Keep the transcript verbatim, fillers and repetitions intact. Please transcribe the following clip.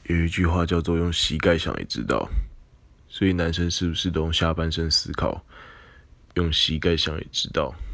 有一句話叫做用膝蓋想也知道，所以男生是不是都用下半身思考？用膝蓋想也知道。